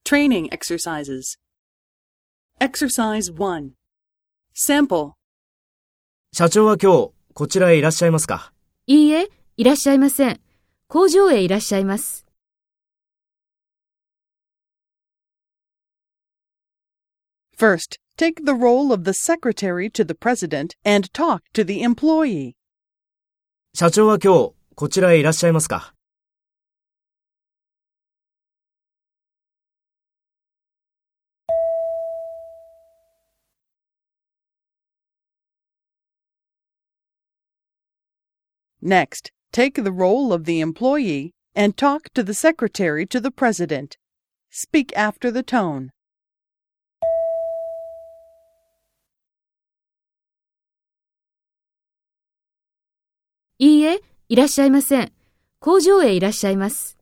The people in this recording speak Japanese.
Training exercises. Exercise 1. Sample. 社長は今日、こちらへいらっしゃいますか？ いいえ、いらっしゃいません。工場へいらっしゃいます。 First, take the role of the secretary to the president and talk to the employee. 社長は今日、こちらへいらっしゃいますか？ Next, take the role of the employee and talk to the secretary to the president. Speak after the tone. いいえ、いらっしゃいません。工場へいらっしゃいます。